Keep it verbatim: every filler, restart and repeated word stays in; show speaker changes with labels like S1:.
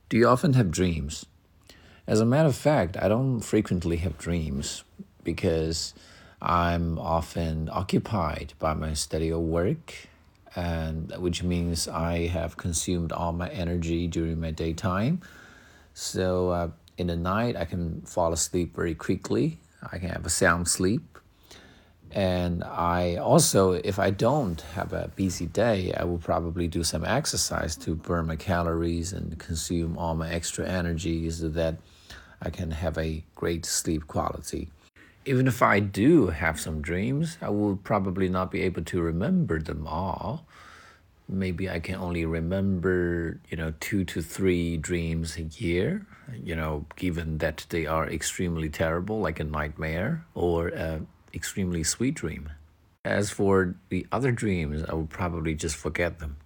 S1: Do you often have dreams? As a matter of fact, I don't frequently have dreams because I'm often occupied by my study or work, and which means I have consumed all my energy during my daytime. So uh, in the night, I can fall asleep very quickly. I can have a sound sleep. And I also, if I don't have a busy day, I will probably do some exercise to burn my calories and consume all my extra energy so that I can have a great sleep quality. Even if I do have some dreams, I will probably not be able to remember them all. Maybe I can only remember, you know, two to three dreams a year, you know, given that they are extremely terrible, like a nightmare, or an extremely sweet dream. As for the other dreams, I will probably just forget them.